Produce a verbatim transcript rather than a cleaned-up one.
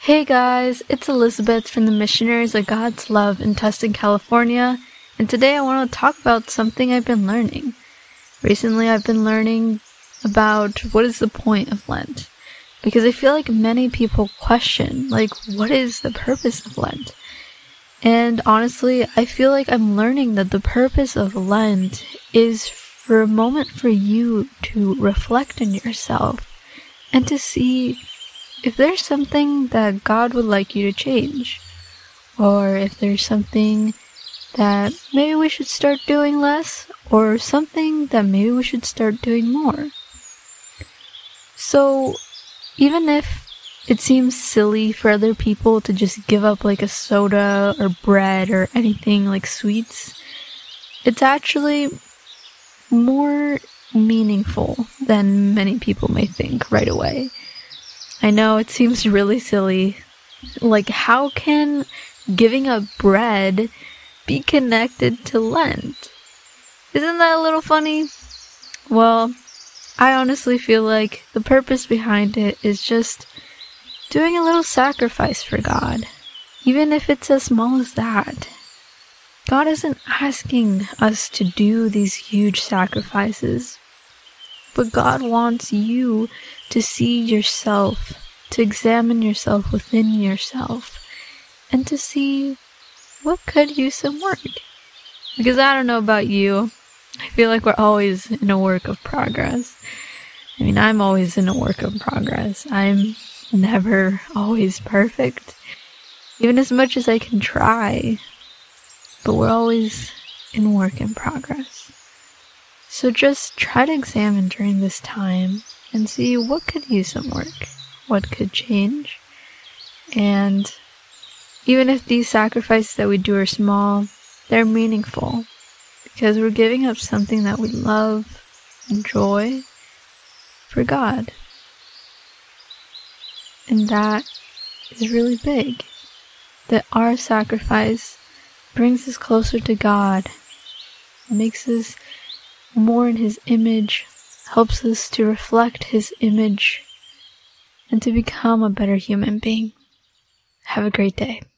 Hey guys, it's Elizabeth from the Missionaries of God's Love in Tustin, California, and today I want to talk about something I've been learning. Recently I've been learning about what is the point of Lent, because I feel like many people question, like, what is the purpose of Lent? And honestly, I feel like I'm learning that the purpose of Lent is for a moment for you to reflect on yourself and to see if there's something that God would like you to change, or if there's something that maybe we should start doing less, or something that maybe we should start doing more. So, even if it seems silly for other people to just give up like a soda or bread or anything like sweets, it's actually more meaningful than many people may think right away. I know it seems really silly. Like, how can giving up bread be connected to Lent? Isn't that a little funny? Well, I honestly feel like the purpose behind it is just doing a little sacrifice for God, even if it's as small as that. God isn't asking us to do these huge sacrifices, but God wants you to see yourself, to examine yourself within yourself, and to see what could use some work. Because I don't know about you, I feel like we're always in a work of progress. I mean, I'm always in a work of progress. I'm never always perfect, even as much as I can try, but we're always in work in progress. So just try to examine during this time and see what could use some work, what could change. And even if these sacrifices that we do are small, they're meaningful because we're giving up something that we love, enjoy, for God. And that is really big. That our sacrifice brings us closer to God, makes us more in His image, helps us to reflect His image, and to become a better human being. Have a great day.